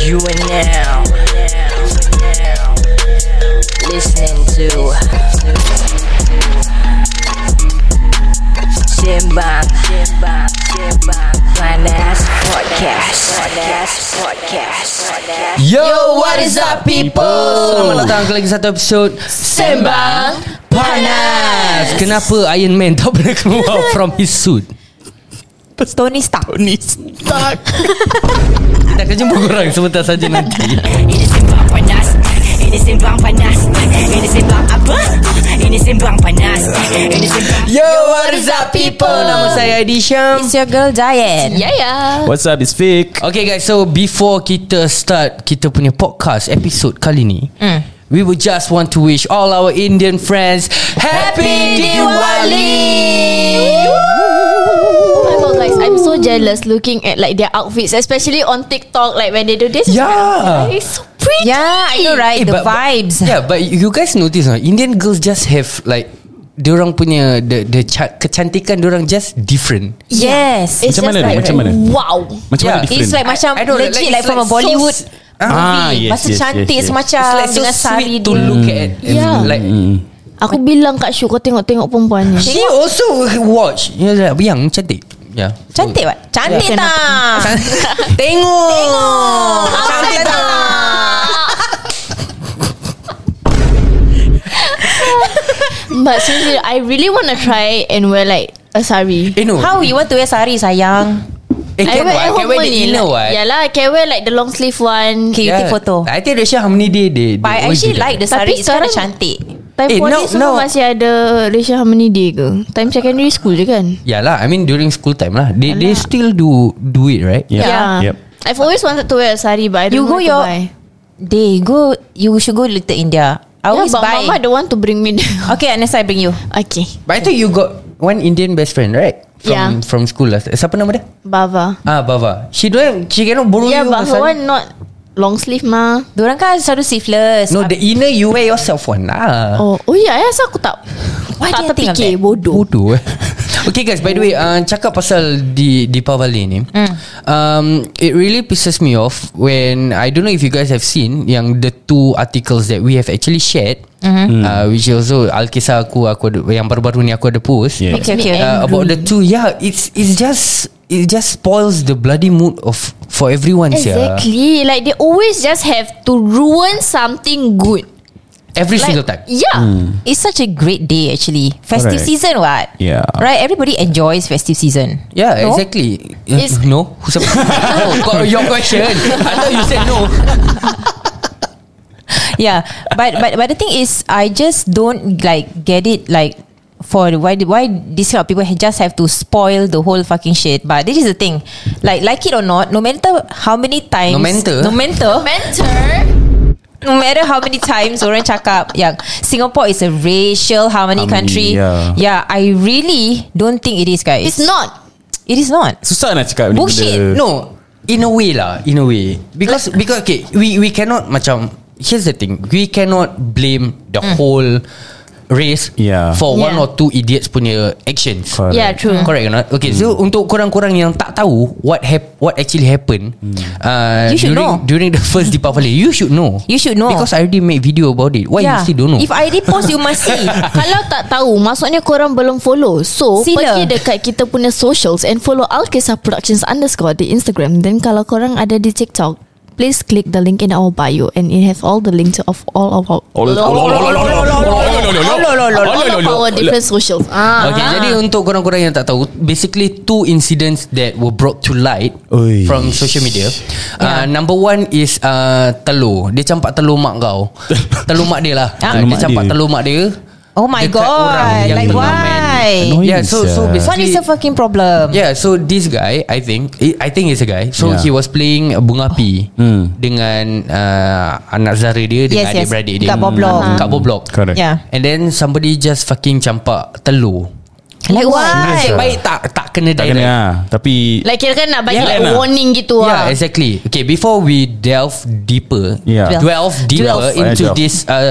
You are now listening to Sembang Panas Podcast. Yo, what is up people? Selamat datang ke lagi satu episod Sembang Panas. Kenapa Iron Man tak pernah keluar from his suit? Tony Stark. Kita akan jumpa korang sebentar saja nanti. Ini Sembang Panas. Ini Sembang Panas. Ini Sembang apa? Ini Sembang Panas. Ini Sembang. Yo, what is up people? Nama saya Adi Syam. It's your girl Giant. Yeah. What's up, it's Vic. Okay guys, so before kita start kita punya podcast episode kali ni, we would just want to wish all our Indian friends Happy Diwali! Guys, I'm so jealous looking at like their outfits, especially on TikTok. Like when they do this, Yeah. it's so pretty. Yeah, I know right. The vibes. Yeah, but you guys notice Indian girls just have like diorang punya the kecantikan diorang just different. Yes. It's Macam just mana? like Macam mana? wow. Macam mana Yeah. different? It's like macam I don't know, legit like, like from a it's Bollywood movie. yes, Masa yes, cantik yes. semacam It's like so dengan sari sweet to dia. look at. Yeah. Like Aku bilang Kak Syu, kau tengok-tengok perempuan ni. she also watch yang cantik. Yeah. Cantik tak? Cantik Yeah. tak? Tengok. Cantik tak? But seriously, I really want to try and wear like a sari. No. How you want to wear sari sayang? Can wear the inner one. Yalah, I can wear like the long sleeve one. Okay, you take photo. I think Resha Harmony they But I always actually do that. like the sari. Tapi It's kind of sekarang- cantik. Time Eh, poly no, semua no. masih ada Resha Harmony Day ke? Time secondary school je kan? Yalah, I mean during school time lah. They still do it, right? Yeah. Yeah. Yep. I've always wanted to wear a sari, but I don't You know go where to your buy. You should go Little India. I always Yeah, but buy. Mama don't want to bring me there. Okay, next I bring you. Okay. But I think you got one Indian best friend, right? Yeah. From school lah. Siapa nama dia? Bava. Bava. She cannot borrow Yeah, you. but her one not long sleeve mah. Diorang kan selalu sleeveless. No, the inner you wear yourself one lah. Oh ya, asal aku tak Why tak do you think of terfikir, that? bodoh. Bodoh. Okay guys, by the way, cakap pasal Deepavali ni, it really pisses me off when I don't know if you guys have seen yang the two articles that we have actually shared, which also Alkisah aku ada, yang baru-baru ni aku ada post. Yeah. Okay, okay. About the two, yeah, it just spoils the bloody mood for everyone. Exactly. Like they always just have to ruin something good. Every Like, single time. Yeah. It's such a great day actually. Festive Correct. season what? Yeah. Right, everybody enjoys festive season. Yeah, No? exactly. It's- No? Oh, your question. I thought you said no. Yeah, but the thing is, I just don't like get it. Like, for why these kind of people just have to spoil the whole fucking shit. But this is the thing, like it or not, no matter how many times, Mentor no matter how many times orang cakap yang Singapore is a racial harmony country. yeah. I really don't think it is, guys. It's not. It is not. Susah nak cakap benda. Bullshit. No, in a way because okay, we cannot macam, here's the thing, we cannot blame the whole race for one Yeah. or two idiots punya actions. Correct. Yeah, true. Correct or not? Okay, so untuk korang-korang yang tak tahu what actually happened, You should know. during the first Deepavali, you should know. You should know. Because I already made video about it. Why you still don't know? If I repost, you must see. Kalau tak tahu, maksudnya korang belum follow. So Sila. pergi dekat kita punya socials and follow Alkisah Productions _ di Instagram. Dan kalau korang ada di TikTok, please click the link in our bio and it has all the links of all of our different socials. Okay, jadi untuk korang-korang yang tak tahu, basically two incidents that were brought to light Oi. from social media. Number one is telur. Dia campak telur mak kau. Telur mak dia lah. Telur Dia mak campak dia. telur mak dia. Oh my dekat orang god. yang Like tengah why? Annoying, Yeah, so sia. basically What is the fucking problem? Yeah, so this guy, I think it's a guy. So Yeah. he was playing bunga api dengan anak Zara dia dengan Yes, yes. adik-beradik dia Kat bawah blok. kat bawah blok. Correct. Yeah. And then somebody just fucking campak telur. Like why? Nasib baik tak kena Tak direct. kena Tapi Like kira kan nak bagi Yeah. like warning gitu Yeah, lah. exactly. Okay, before we delve deeper, Yeah. delve deeper Delve. into Delve. this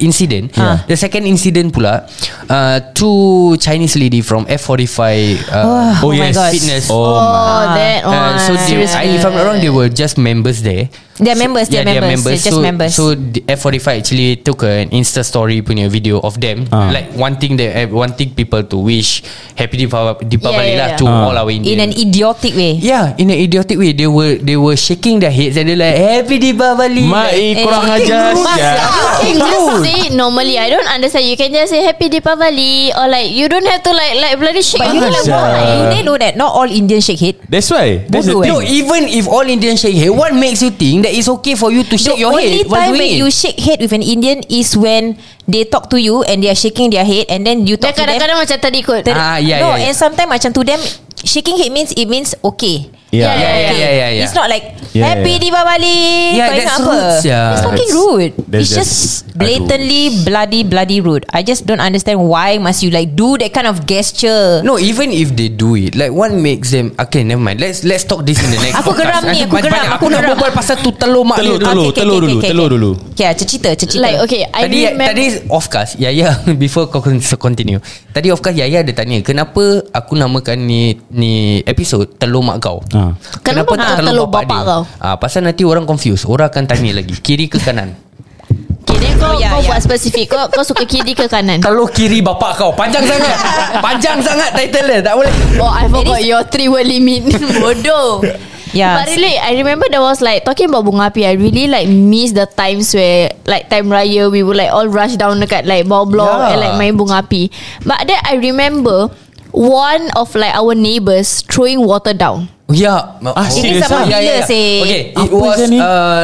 incident. The second incident pula, two Chinese lady from F45 Oh my God. fitness. Oh, that one. So if I'm not wrong, they were just members there. They're members. They're members. They're just members. So the F45 actually took an Insta story punya video of them, like wanting people to wish Happy Deepavali lah to all our Indians. In an idiotic way. Yeah, in an idiotic way. They were shaking their heads and they're like, Happy Deepavali. kurang ajar. You can just say it normally. I don't understand. You can just say Happy Deepavali, or like you don't have to like bloody shake. But you know like why? They know that not all Indians shake head. That's why. That's the Bodoh, thing. No, even if all Indians shake head, what makes you think that it's okay for you to shake your head? The only time when you shake head with an Indian is when they talk to you and they are shaking their head, and then you talk to them. Kadang-kadang macam terikut. And sometimes macam to them, shaking head means it means okay. Yeah. It's not like Yeah, Happy Deepavali. Yeah, Kau that's ingat apa? rude, yeah. It's fucking That's- rude. that's It's just just blatantly bloody rude. I just don't understand why must you like do that kind of gesture. No, even if they do it, like what makes them? Okay, never mind. Let's talk this in the next. Aku podcast. geram ni, aku geram, Banyak. aku Aku nak geram. berbual pasal tu telur mak Telur dia. dulu. Telur dulu. Okay, cerita. Like okay, I remember. Tadi off cast Yaya before kau continue. Tadi off cast Yaya ada tanya, kenapa aku namakan ni episode telur mak kau? Kenapa tak telur bapak kau? Pasal nanti orang confuse. Orang akan tanya lagi, kiri ke kanan? Kiri kau buat spesifik. Kau suka kiri ke kanan? Telur kiri bapak kau. Panjang sangat. Panjang sangat title dia. Tak boleh. Oh, I forgot your 3-word limit. Bodoh. Yeah. But really, I remember there was like talking about bunga api. I really like miss the times where like time raya we would like all rush down dekat like bawah blok and like main bunga api. But then I remember one of like our neighbours throwing water down. Ya. Ini sama bila sih? Okay, it Apa was je ni?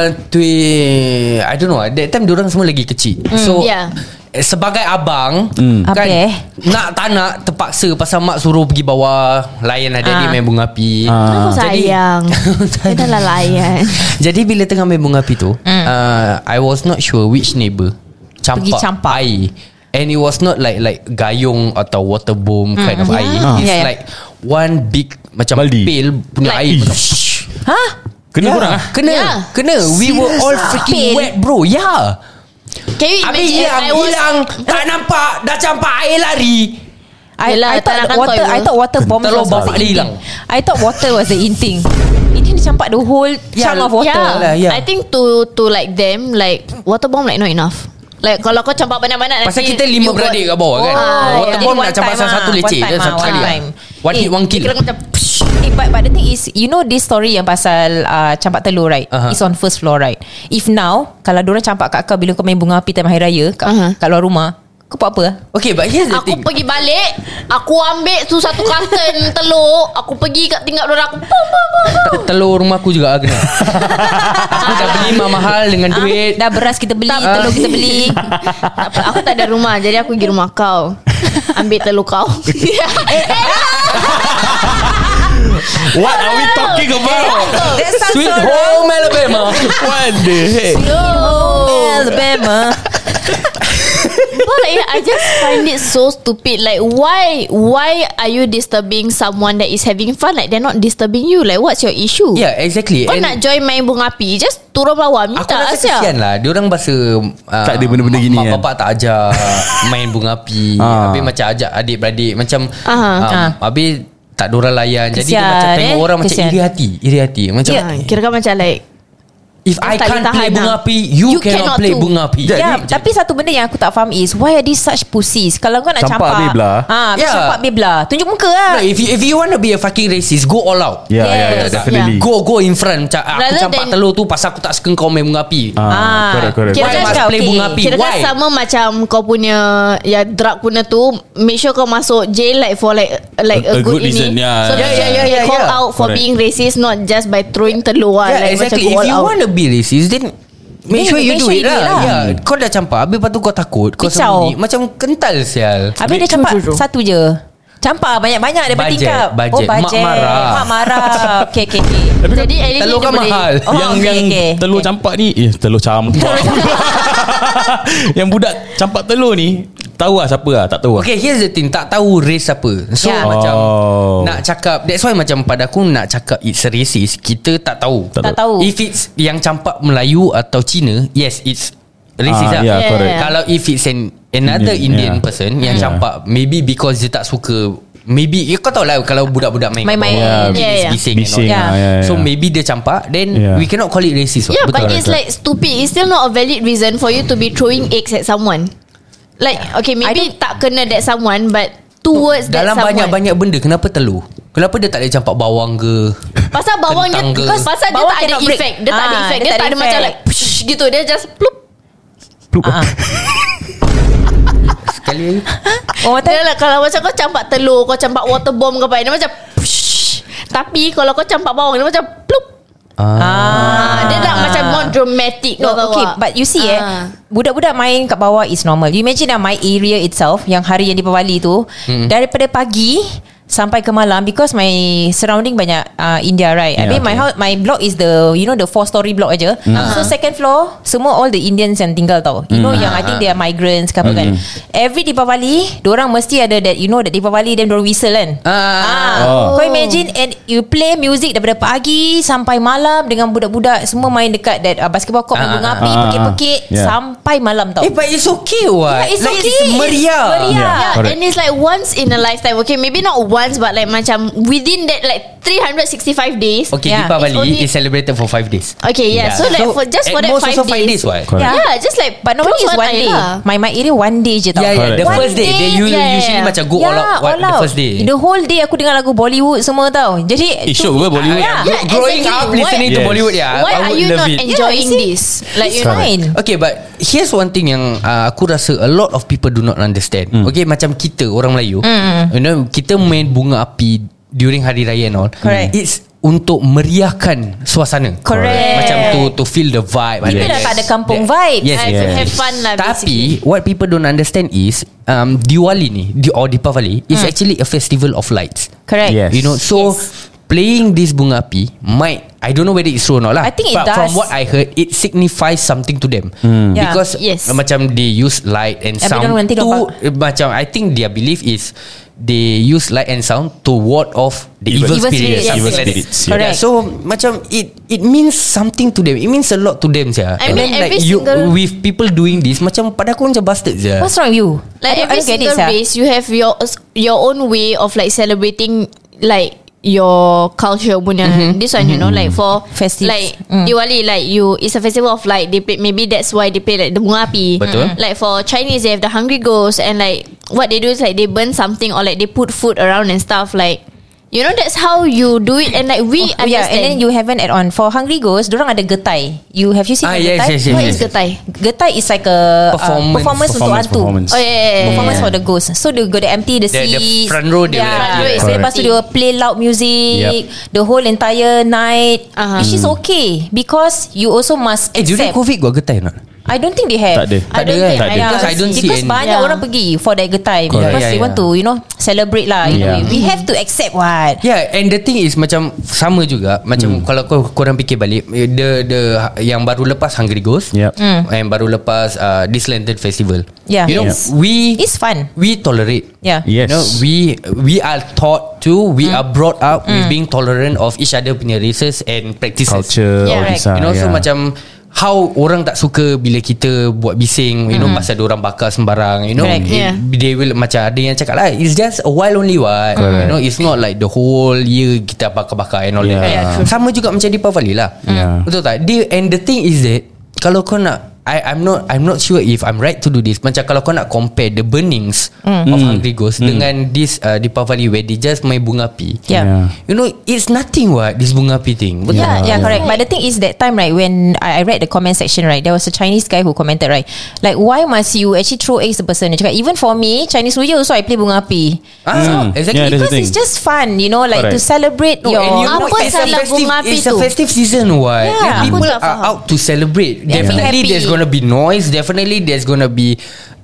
I don't know. That time diorang semua lagi kecil. So yeah. sebagai abang Apa kan, nak tak nak terpaksa pasal mak suruh pergi bawah layan adik-adik main bunga api. Aku sayang. Kita lah layan. Jadi bila tengah main bunga api tu, I was not sure which neighbour campak air. And it was not like gayung atau water bomb kind of air. It's like one big macam Baldi. pail punya Like- air. Hah? Kena korang Kena. We were all freaking Pail? wet, bro. Yeah. Can you Habis imagine? hilang, tak nampak, dah campak air lari. Yelah, I thought tak nak water. kau, I thought water bomb Telur was bapak the dia in hilang. thing. I thought water was the in thing. Ini dia campak the whole chunk of water. lah, yeah. I think to like them like water bomb like not enough. Like kalau kau campak banyak-banyak Pasal nanti kita 5 you beradik got- kat bawah kan. Water Jadi bomb one nak campak time satu lah. leceh. One time Dia satu lah, kali one lah. time. One hit, one kill. Kira macam But the thing is, you know this story yang pasal campak telur, right? It's on first floor, right? If now kalau diorang campak kat kau bila kau main bunga api time hari raya kat luar rumah, kau buat apa? Okay, but here's the Aku thing. pergi balik, aku ambil tu satu carton telur, aku pergi kat tingkat dorang, aku pum pum pum pum. Telur rumah aku juga kena. Aku dah beli mahal dengan duit. Dah beras kita beli, telur kita beli. Tak apa, aku tak ada rumah, jadi aku pergi rumah kau. Ambil telur kau. What are we talking about? That sounds Sweet so wrong. Home Alabama. What the heck? Alabama. But like, I just find it so stupid. Like why are you disturbing someone that is having fun? Like they're not disturbing you. Like what's your issue? Yeah, exactly. Kau nak join main bunga api, just turun bawah Aku minta rasa asyik. kesian lah. Diorang rasa Tak ada benda-benda gini mak kan? bapak tak ajar main bunga api. Habis macam ajak adik-beradik macam habis tak diorang layan. Jadi dia Kesian, macam tengok orang macam kesian. iri hati. Macam Kira kan macam like if I tak can't boleh play tahan bunga lah. api, you You cannot cannot play too. bunga api. Ya, tapi satu benda yang aku tak faham is why are these such pussies? Kalau kau nak Campak campak, beblah. Yeah. campak beblah. Tunjuk muka lah. No, if you want to be a fucking racist, go all out. Yeah, Yes. definitely. Go in front. Macam aku Rather campak than- telur tu pasal aku tak suka kau main bunga api. Correct. Why Kira must kan play okay. bunga api? Kira kan Why? sama macam kau punya ya drug punya tu, make sure kau masuk jail like for like A a good good reason, ini. yeah. So Yeah, call yeah. out for Correct. being racist, not just by throwing telur. Yeah, like exactly. macam If go you all out. want to be racist, then make sure you do it lah. Yeah, kau dah campak, habis lepas tu kau takut, kau Pisau. sembunyi, macam kental sial. Habis dia campak satu je. Campak banyak-banyak daripada Budget, tingkap. budget. Oh, budget. Mak marah. Mak marah. Okay. Jadi at least Telur dia kan boleh- mahal. Oh, Yang okay. telur campak ni telur campak. Yang budak campak telur ni tahu lah siapa lah, tak tahu lah. Okay, here's the thing. Tak tahu race apa. So Yeah. macam Oh. nak cakap, that's why macam pada aku nak cakap it's racist, kita tak tahu. Tak tahu. If it's yang campak Melayu atau Cina, yes, it's racist lah. Yeah, correct. Kalau if it's another Indian person yang campak, maybe because dia tak suka, maybe kau tahu lah kalau budak-budak main Main-main. bising and all that. So maybe dia campak, then we cannot call it racist. Yeah, but Betul. it's like stupid. It's still not a valid reason for you to be throwing eggs at someone. Like okay, maybe tak kena that someone, but towards that dalam someone. banyak-banyak benda, kenapa telur? Kenapa dia tak boleh campak bawang ke? Pasal bawang dia, kentang ke? pasal dia Bawang tak ada cannot break. effect. Dia tak ada effect. Dia tak ada macam like push gitu. Dia just plup. Sekali lagi. Dia lah, kalau macam kau campak telur, kau campak water bomb ke apa, dia macam push. Tapi kalau kau campak bawang, dia macam plup. Dia nak macam more dramatic. No, okay, but you see budak-budak main kat bawah is normal. You imagine my area itself, yang hari yang Deepavali tu, daripada pagi sampai ke malam, because my surrounding banyak India, right? I mean my block is the 4-story block aja. So second floor semua all the Indians yang tinggal tau. Yang I think they are migrants ke apa kan. Every Deepavali diorang mesti ada that that Deepavali then diorang whistle kan. Kau imagine, and you play music daripada pagi sampai malam dengan budak-budak semua main dekat that basketball court, main bunga api, pekik-pekik sampai malam tau. But it's okay what? It's Like, okay. it's meriah. Yeah, and it's like once in a lifetime. Okay, maybe not once, but like macam within that like 365 days. Okay, Yeah, Deepavali is celebrated for 5 days. Okay, yeah. So like for just for at that most 5 also 5 days what? Yeah, just like But normally it's one day. My area one day je tau. The One first day they usually macam go all out the first day. The whole day aku dengar lagu Bollywood semua tau. Jadi Syok ke Bollywood? Growing up listening to Bollywood, Why are you not enjoying this? Like it's fine. Okay, but here's one thing yang aku rasa a lot of people do not understand. Okay, macam kita orang Melayu, kita main bunga api during hari raya and all. Correct. It's untuk meriahkan suasana. Correct. Macam to feel the vibe. Kita dah tak ada kampung vibe. Yes. Have fun lah. Tapi what people don't understand is Diwali ni or Deepavali is actually a festival of lights. Correct. Yes. So playing this bunga api might, I don't know whether it's true or not lah. I think it but does. from what I heard, it signifies something to them. Yeah. Because macam they use light and sound nanti to macam I think their belief is they use light and sound to ward off the evil spirits. Yes, Something yes. like that. Spirits, Correct. So macam it means something to them. It means a lot to them sia. I And mean, then every like you single- with people doing this, macam pada aku macam bastard sia. What's wrong with you? Like I every don't get it, single sia. race, you have your own way of like celebrating like your culture punya. This one, like for Festives. like Diwali, like it's a festival of light. They play, maybe that's why they play like the bunga api. Betul. Like for Chinese, they have the hungry ghost, and like what they do is like they burn something or like they put food around and stuff. Like that's how you do it, and like we understand. Yeah, and then you haven't add on for Hungry Ghost. Dorang ada getai. Have you seen the getai? yes. What is getai? Getai is like a performance untuk hantu. Performance. Oh yeah. Performance for the ghost. So they go to empty the The seats. front row dia Yeah. will empty. So lepas tu dia will play loud music the whole entire night, which is okay because you also must During accept. COVID got getai not? I don't think they have. Tak ada. I don't think. Tak ada. Because I don't see Because any. banyak orang pergi for that getai because Yeah, they want to celebrate lah. We have to accept what. Yeah, and the thing is macam sama juga. Macam kalau korang fikir balik, the yang baru lepas Hungry Ghost, and baru lepas this Lantern Festival. Yeah. Yes. we It's fun. we tolerate. Yeah. Yes. We are taught to. We are brought up with being tolerant of each other punya races and practices. Culture, all Yeah, this. So macam how orang tak suka bila kita buat bising, pasal diorang bakar sembarang, Correct, they will macam ada yang cakap lah, it's just a while only what, it's not like the whole year kita bakar-bakar and all that. Sama juga macam Deepavali lah. Betul tak? And the thing is that kalau kau nak, I'm not sure if I'm right to do this. Macam kalau kau nak compare the burnings of Hungry Ghost dengan this Deepavali where they just main bunga api, it's nothing what, this bunga api thing. Betul? Yeah, correct. But the thing is that time, right, when I read the comment section, right, there was a Chinese guy who commented, right, like why must you actually throw eggs to the person? Dia cakap, even for me, Chinese New Year also I play bunga api. Exactly. Yeah, that's the Because thing. it's just fun, like Correct. to celebrate your. And Apa it's a salah bunga api it's a tu? festive season what. Yeah. And people Aku tak are faham. out to celebrate. Yeah, be Definitely happy. there's gonna be noise. Definitely there's gonna be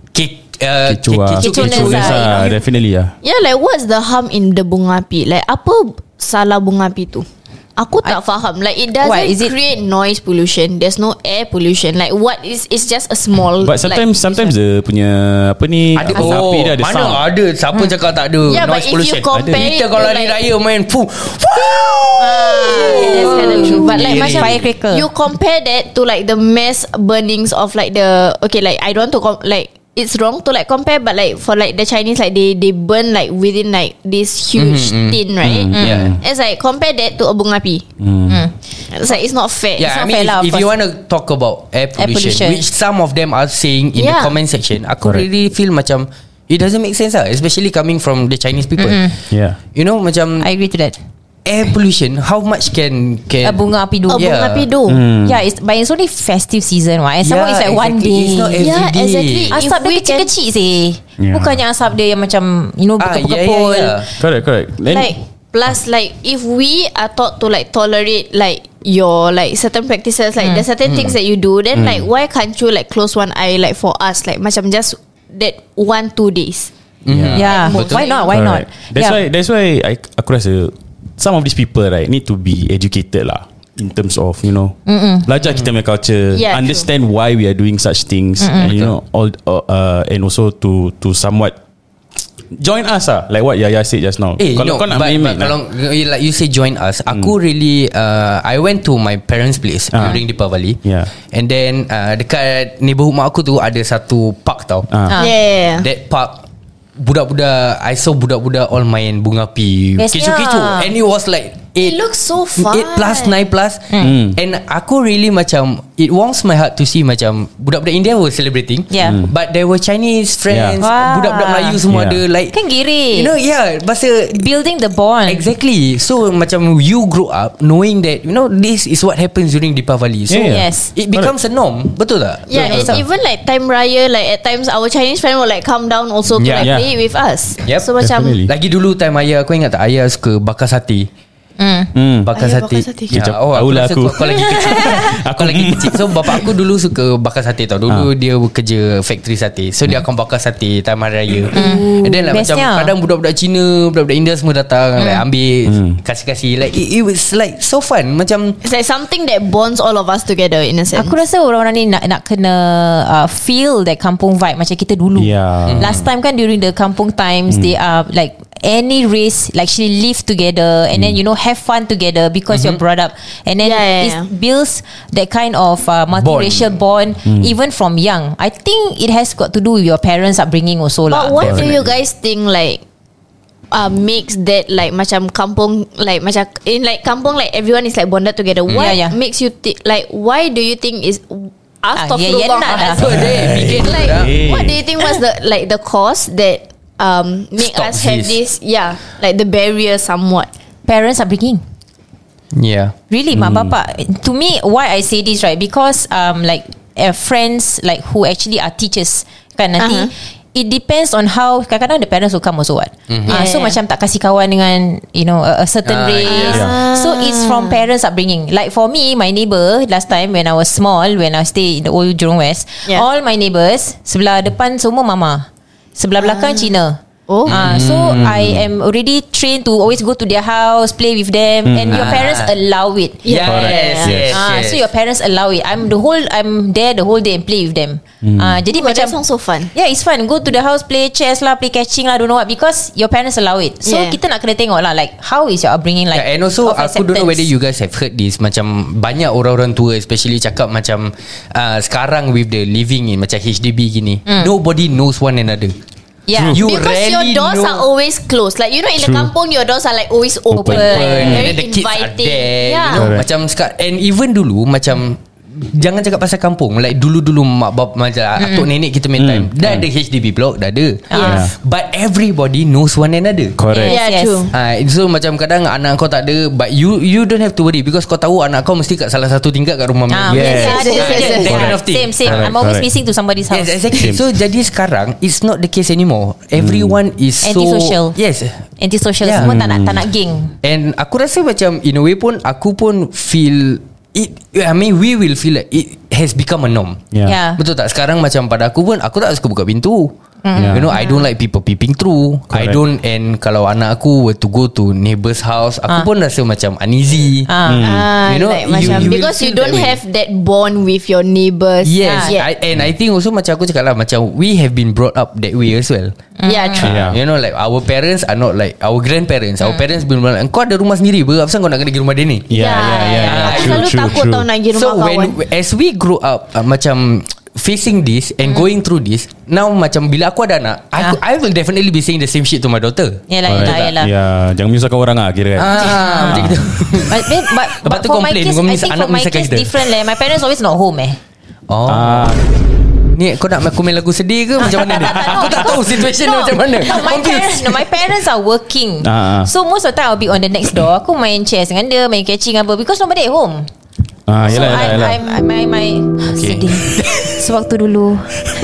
Kecoh-kecoh lah. Definitely lah. Yeah, like what's the harm in the bunga api? Like apa salah bunga api tu? Aku tak faham. Like it doesn't What, is it- create noise pollution. There's no air pollution. Like what is? It's just a small. But sometimes dia punya apa ni, ada asap api dia ada mana sound. ada siapa cakap tak ada Yeah, but noise if you pollution. compare Kita it kalau to hari like- raya main That's kind of true. But like macam firecracker. you compare that to like the mass burnings of like the like I don't want to like it's wrong to like compare, but like for like the Chinese, like they burn like within like this huge tin, right? Yeah. It's like compare that to a bunga api. It's like it's not fair. Yeah, It's not I mean, fair lah, if of you course. want to talk about air pollution, pollution. which some of them are saying in the Yeah. comment section, aku really feel macam it doesn't make sense lah, especially coming from the Chinese people. Yeah. You know, macam I agree to that. air pollution, how much can A bunga api do. A bunga api do. Yeah, but it's only festive season, right? And some more it's like one exactly. day. It's not every Yeah, day. exactly. Asap If dia we can- kecil-kecil sih. Yeah. Bukannya asap dia yang macam berkepul-kepul. Correct. Then Like plus like if we are taught to like tolerate like your like certain practices, like the certain things that you do, then like why can't you like close one eye like for us, like macam just that 1-2 days. Yeah, Betul. why not? Why not? Correct. That's why aku rasa some of these people right need to be educated lah in terms of belajar kita punya culture, Yeah, understand why we are doing such things, and all and also to somewhat join us lah, like what Yaya said just now. Kalau kau nak but main kalau like you say join us, aku really I went to my parents' place during Deepavali. Yeah. And then dekat neighborhood mak aku tu ada satu park tau. Yeah. That park, budak-budak, I saw budak-budak all main bunga api, Bestnya. kecoh-kecoh, and it was like It looks so fun. 8 plus 9 plus And aku really macam it warms my heart to see macam budak-budak India were celebrating, Yeah. but there were Chinese friends, Wah. budak-budak Melayu semua Yeah. ada, like Kan giri. bahasa Building the bond. exactly. So macam you grow up knowing that this is what happens during Deepavali. So Yeah. Yes. it becomes a norm. Betul tak? Yeah, and even like time raya, like at times our Chinese friend will like come down also to Yeah. like Yeah. play with us. Yep. So macam Definitely. Lagi dulu time ayah, aku ingat tak, ayah suka bakar sate. Bakar Ayah sate, bakar sate. Ya, Kejap, aku tahulah rasa aku. kau lagi kecil. Aku lagi kecil. So bapak aku dulu suka bakar sate tau. Dulu dia bekerja factory sate. So dia akan bakar sate time hari raya. And then like macam Bestnya. kadang budak-budak Cina, budak-budak India semua datang, like ambil, kasih-kasih. Like it was like so fun. Macam it's like something that bonds all of us together in a sense. Aku rasa orang-orang ni nak kena feel that kampung vibe macam kita dulu. Yeah. Last time kan during the kampung times, they are like any race like actually live together and then have fun together because you're brought up, and then Yeah. it builds that kind of multiracial bond even from young. I think it has got to do with your parents' upbringing also lah. But what do you guys think like makes that like macam kampung, like macam in like kampung, like everyone is like bonded together? What Yeah, yeah. makes you think, like why do you think is yeah, nak dah. so dia bikin like Hey. what do you think was the like the cause that make Stops us have this. like the barrier somewhat? Parents' upbringing. yeah. Really, mak bapak. To me, why I say this, right? Because like friends like who actually are teachers kan nanti. It depends on how. Kadang-kadang the parents will come also what. So macam tak kasih kawan dengan a certain race. yeah. So it's from parents upbringing. Like for me, my neighbour last time when I was small, when I stay in the old Jurong West, all my neighbours sebelah depan semua mama, sebelah belakang Cina. So I am already trained to always go to their house, play with them, and your parents allow it. Yes. So your parents allow it. I'm there the whole day and play with them. Jadi But that macam sounds so fun. yeah, it's fun. Go to the house, play chess lah, play catching lah, don't know what, because your parents allow it. So Yeah. kita nak kena tengok lah, like how is your upbringing like. Yeah, and also of aku don't know acceptance. whether you guys have heard this. Macam banyak orang-orang tua especially cakap macam sekarang with the living in macam HDB gini, nobody knows one another. Yeah. You Because your rarely doors know. are always closed. Like in the kampung, your doors are like always open, And very then the kids are inviting. there, Yeah. Correct. Macam and even dulu macam jangan cakap pasal kampung. Like dulu-dulu mak bab macam atuk nenek kita main time, dah ada HDB block, dah ada. Yes. But everybody knows one another. Correct. Yeah, true. So macam kadang anak kau tak ada, but you don't have to worry because kau tahu anak kau mesti kat salah satu tingkat kat rumah Yes. Yes. That kind of thing. Same. Correct, I'm always correct. missing to somebody's house. Yes, exactly. So jadi sekarang it's not the case anymore. Everyone is so Antisocial. Yes. Antisocial, Yeah. semua tak nak geng. And aku rasa macam in a way pun aku pun feel it. I mean we will feel like it has become a norm. Yeah. Yeah. Betul tak? Sekarang macam pada aku pun aku tak suka buka pintu. You know, I don't like people peeping through. I Correct. don't. And kalau anak aku were to go to neighbour's house, aku pun rasa macam uneasy. You know, like macam you will because you feel don't that way. have that bond with your neighbours. Yes, Yeah. and I think also macam aku cakap lah, macam we have been brought up that way as well. Yeah, true. Yeah. You know, like our parents are not like our grandparents. Our parents been like, kau ada rumah sendiri ber, apa kau nak kena pergi rumah dia ni? Aku selalu takut tau nak pergi rumah So kawan. as we grow up, macam facing this and going through this, now macam bila aku ada anak, I will definitely be saying the same shit to my daughter. Yelah. Ya, jangan menyusahkan orang lah kira kan. Macam gitu. But Lepas tu for my complain, case, kau I miss think anak for my misahkan case kita. different My parents always not home Oh. Ni kau nak aku main lagu sedih ke macam mana ni? Aku tak tahu situation dia macam mana. My parents are working. So most of the time I'll be on the next door. Aku main chess dengan dia, main catching apa, because nobody at home. Yelah. Okay. Sedih. Sewaktu dulu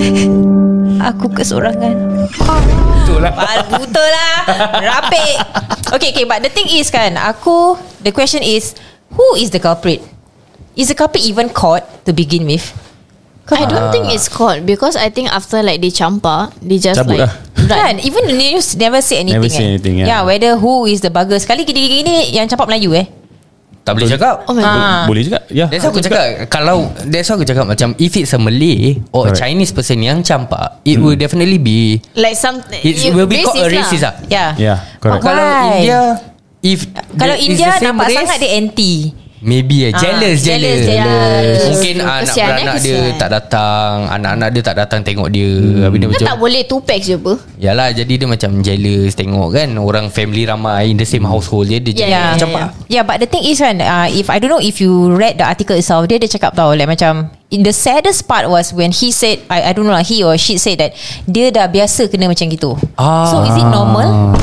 aku kesorangan. Betul lah. Betul lah. Rapik. Okay, but the thing is kan, the question is, who is the culprit? Is the culprit even caught to begin with? I don't think it's caught because I think after like they campak, they just Cabut like lah. Kan, even the news never say anything. Never say anything, yeah. whether who is the bugger. Sekali gini-gini yang campak Melayu Tak boleh cakap. Oh my god. Boleh juga. Ya. That's why aku cakap, kalau that's why aku cakap macam if it's a Malay or a Correct. Chinese person yang campak, it will definitely be, Like some it will be called a racist lah. Yeah. Ya, correct. Kalau Why? India, if Kalau there is India the same nampak race, sangat dia anti. maybe jealous. jealous. Mungkin anak Kesian, beranak dia kesian. tak datang, anak-anak dia tak datang tengok dia. Habis dia Dia macam, tak boleh 2 packs je apa. yalah, jadi dia macam jealous tengok kan orang family ramai in the same household je, dia Yeah, jadi yeah, campak. Yeah, but the thing is kan, if I don't know if you read the article itself, dia cakap tau, like macam the saddest part was when he said, I don't know lah, he or she said that dia dah biasa kena macam gitu. So is it normal?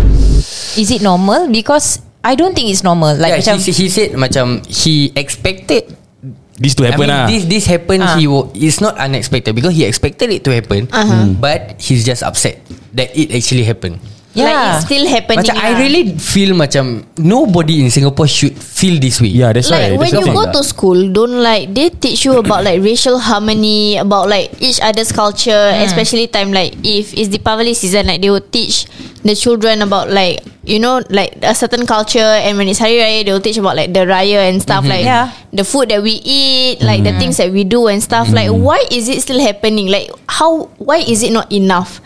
Is it normal? Because I don't think it's normal. Like Yeah, macam he said macam he expected This to happen lah. this happened. It's not unexpected because he expected it to happen, but he's just upset that it actually happened. Like it's still happening. Macam I really feel macam nobody in Singapore should feel this way. Yeah, that's Like right. when That's you the go thing. to school, don't like they teach you about like racial harmony, about like each other's culture, especially time like if it's Deepavali season, like they will teach the children about like, you know, like a certain culture, and when it's Hari Raya, they will teach about like the Raya and stuff, like the food that we eat, like the things that we do and stuff. Like why is it still happening? Like why is it not enough?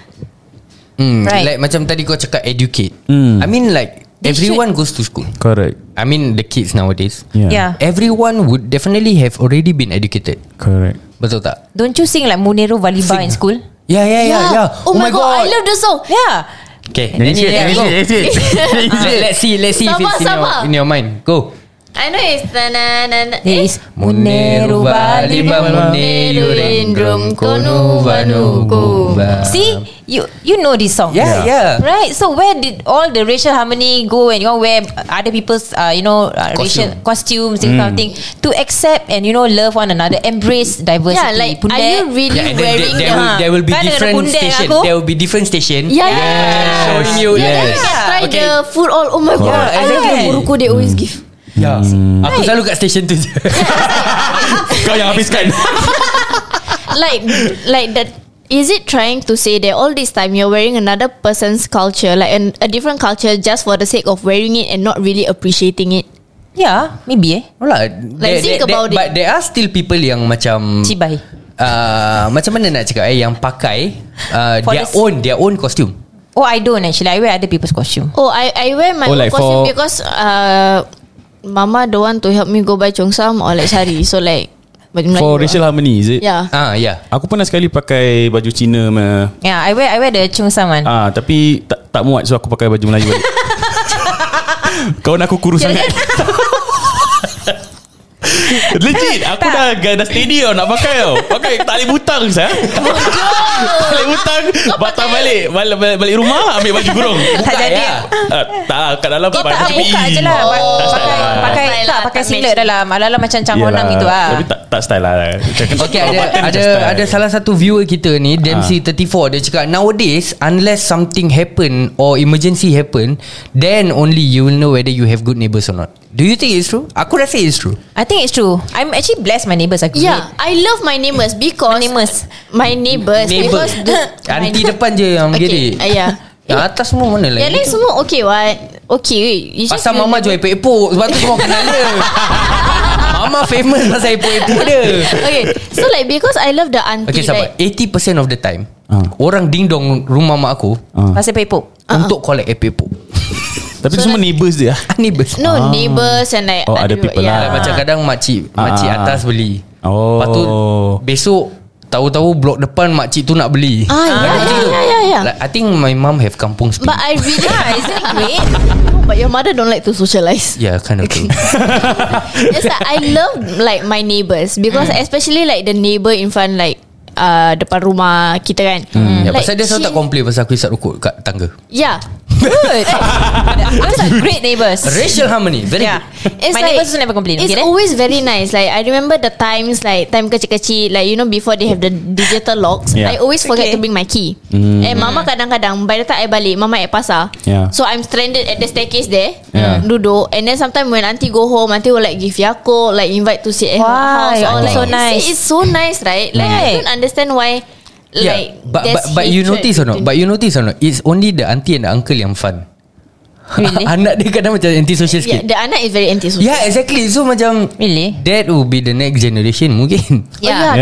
Right. Like macam tadi kau cakap educate. I mean like everyone goes to school. Correct. I mean the kids nowadays. Yeah. Everyone would definitely have already been educated. Correct. Betul tak? Don't you sing like Munero Valiba in school? Yeah. Oh my god, I love the song. Yeah. Okay, Let's let's see if it's Sabar. in your mind. Go. I know it's There is Munero Valiba, Munero Rendrum Kono Vanu Kuba. See, you know this song. Yeah. Right. So where did all the racial harmony go, and you know wear other people's racial costumes, this kind of thing, to accept and love one another, embrace diversity. Yeah, like are you really Yeah, and wearing there will be Kan dengan different pundek station. aku. There will be different station. Yeah. Showing you. Yeah, then you can try Okay. the food all. Oh my god, Yeah, I love exactly. the buruku they always give. Yeah. Aku selalu kat station tu je. Kau yang habiskan. like that. Is it trying to say that all this time you're wearing another person's culture, like a different culture, just for the sake of wearing it and not really appreciating it? Yeah, maybe Like, think about it. But there are still people yang macam Cibai. macam mana nak cakap yang pakai For their own costume. Oh, I don't actually. I wear other people's costume. Oh, I wear my own like costume for- because Mama don't want to help me go buy cheongsam or like sari. So like baju Melayu For lah. racial harmony, is it? Yeah. Yeah. Aku pernah sekali pakai baju Cina Yeah, I wear the cheongsam one. tapi tak muat, so aku pakai baju Melayu balik. Kawan aku kurus sangat. Legit, aku dah steady tau nak pakai tau. Pakai tali butang sah. Tali butang, batang balik rumah, ambil baju kurung. Tak jadi. Tak, kat dalam Kau tak baju buka PE. je lah. Tak style lah, Pakai tak singlet dalam. Alalah macam Chang Honam Yelah, gitu lah. Tapi tak style lah. Okay, ada salah satu viewer kita ni, Dempsey34, dia cakap nowadays unless something happen or emergency happen, then only you will know whether you have good neighbours or not. Do you think it's true? Aku rasa it's true. I think it's true. I'm actually blessed. My neighbours are great. Yeah, I love my neighbours because my neighbours Neighbour. because Aunty depan je yang gerik. Yeah. Yang atas semua mana Yang lain semua okay what? Okay. You just Pasal Mama jual epok-epok, sebab tu semua kenal dia. Mama famous pasal epok-epok dia. Okay. So like because I love the auntie. Okay, sabar. Like, 80% of the time orang ding dong rumah mak aku Pasal pepok. untuk collect epok-epok. Tapi tu semua neighbours dia. Neighbours. neighbours and like Oh, ada people Like, lah. macam kadang makcik atas beli. Oh. Lepas tu besok tahu-tahu blok depan makcik tu nak beli. yeah. Like, I think my mum have kampung speed. But I really Is it great? But your mother don't like to socialize. Yeah, kind of thing. Yes, I love like my neighbours because especially like the neighbour in front like depan rumah kita kan. Ya, Like, pasal dia selalu tak complain pasal aku isap rokok kat tangga. Yeah. Good. Those are great neighbours. Racial harmony. Very Yeah. good. It's My neighbours also never complain. It's Okay, then? always very nice. Like I remember the times like time kecil-kecil, like you know before they have the digital locks. Yeah. I always forget Okay. to bring my key. And mama kadang-kadang by the time I balik, mama at pasar. Yeah. So I'm stranded at the staircase there, Yeah. duduk. And then sometimes when auntie go home, auntie will like give Yakult, like invite to sit at her Why? house. Or Oh, like so nice. It's so nice, right? Like I Right. don't understand why. Like but you notice or not? But you notice or not? It's only the auntie and the uncle yang fun. Really? Anak dia kadang macam anti-social Yeah, sikit. the anak is very anti-social. Yeah, exactly. So macam Really? that will be the next generation mungkin. Yeah.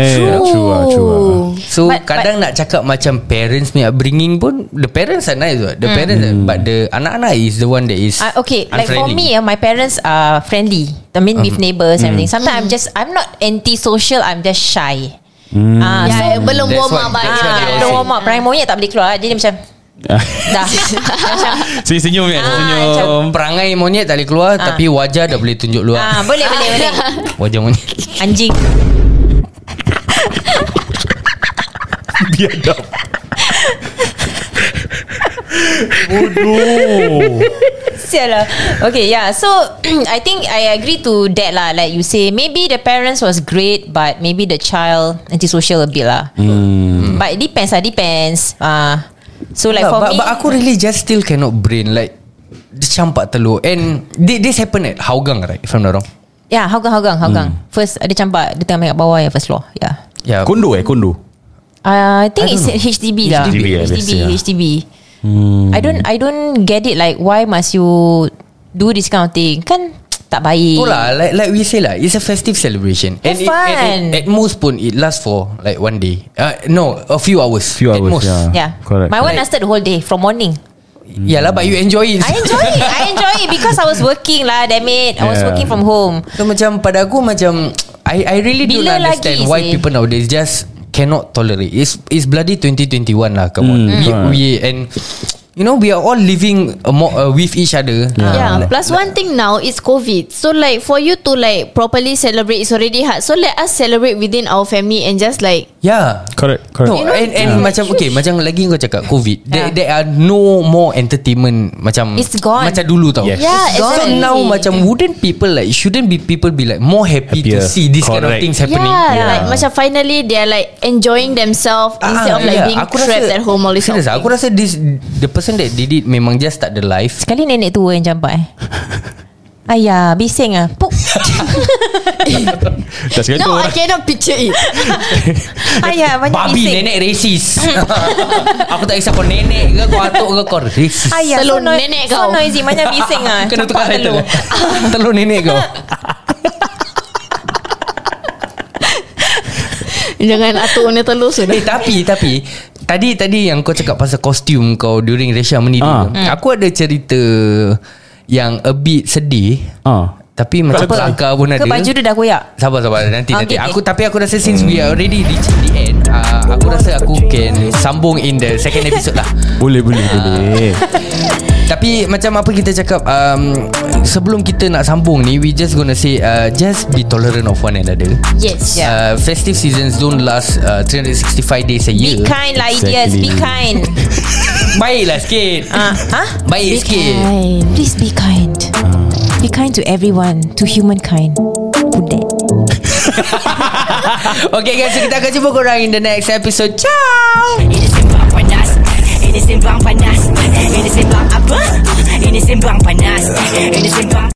True. So But- kadang nak cakap macam parents punya upbringing pun, the parents are nice what. The parents but the anak-anak is the one that is Okay, like for unfriendly. me, my parents are friendly. I mean, with neighbours and everything. Sometimes I'm not anti-social. I'm just shy. Yeah, belum That's warm what- up that's what they all Belum say. warm up. Perangai monyet tak boleh keluar. Jadi macam dah. Macam Senyum kan. Senyum. Perangai monyet tak boleh keluar tapi wajah dah boleh tunjuk luar. boleh. Wajah monyet. Anjing. Biadab. Bodoh. Sial lah. Okay, yeah. So I think I agree to that lah. Like you say, maybe the parents was great, but maybe the child antisocial a bit lah. But it depends lah. Depends. So like for me, but aku really just still cannot brain like dia campak telur. And this happened at Hougang, right? If I'm not wrong. yeah, Hougang. First dia campak, dia tengah main kat bawah ya, first floor. Yeah. Yeah. Kondo. I think it's HDB lah. HDB, yeah, biasa, yeah. HDB. I don't get it. Like why must you do this kind of thing? Kan tak baik. Itulah, like we say lah, it's a festive celebration. Have And fun. at most pun it lasts for like one day. No, a few hours. Few at hours, most. yeah. Yeah. Correct. My one Like- lasted the whole day from morning. Yalah, but you enjoy it. I enjoy it because I was working lah. Damn it, I was Yeah. working from home. So macam pada aku macam I really don't Bila understand lagi why sih? people nowadays just cannot tolerate. It's bloody 2021 lah. Come on. We and you know we are all living with each other. Yeah. Plus one thing now is COVID. So like for you to like properly celebrate is already hard. So let us celebrate within our family and just like Yeah. Correct. No, You know, and macam okay, macam lagi kau cakap COVID, there are no more entertainment macam It's gone. macam dulu tau. Yes. Yeah, So exactly. now macam wouldn't people like shouldn't be people be like more happy to Happier. see this kind of Correct. things happening? Yeah, like macam finally they're like enjoying themselves instead of like being trapped at home all this. Serious, aku rasa the person that did it memang just tak ada life. Sekali nenek tua yang campak Ayah, bising ah. Puk. Dah sekali tu No, I orang. cannot picture it. Ayah, banyak Babi bising. nenek racist. Aku tak kisah kau nenek ke kau atuk ke kau racist. Ayah, Telur so nenek so kau. noisy, banyak bising ah. Kena tukar Campak title. telur. Telur nenek kau. Jangan atuk ni telur sudah. Tapi Tadi yang kau cakap pasal kostum kau during Racial Harmony dulu. Aku ada cerita yang a bit sedih. Tapi macam kelakar pun ada. Ke baju dia dah koyak? Sabar nanti. Okay. Tapi aku rasa since we are already reached the end, aku rasa aku can sambung in the second episode lah. Boleh. Tapi macam apa kita cakap, sebelum kita nak sambung ni, we just gonna say just be tolerant of one another. Yes. Festive seasons don't last 365 days a year. Be kind lah, idiots. Be kind. Baiklah sikit. Baik sikit. Please be kind. Be kind to everyone, to humankind. Budak. Okay guys, so kita akan jumpa korang in the next episode. Ciao. Ini sembang panas. Ini sembang panas. Ini sembang apa? Ini sembang panas. Ini sembang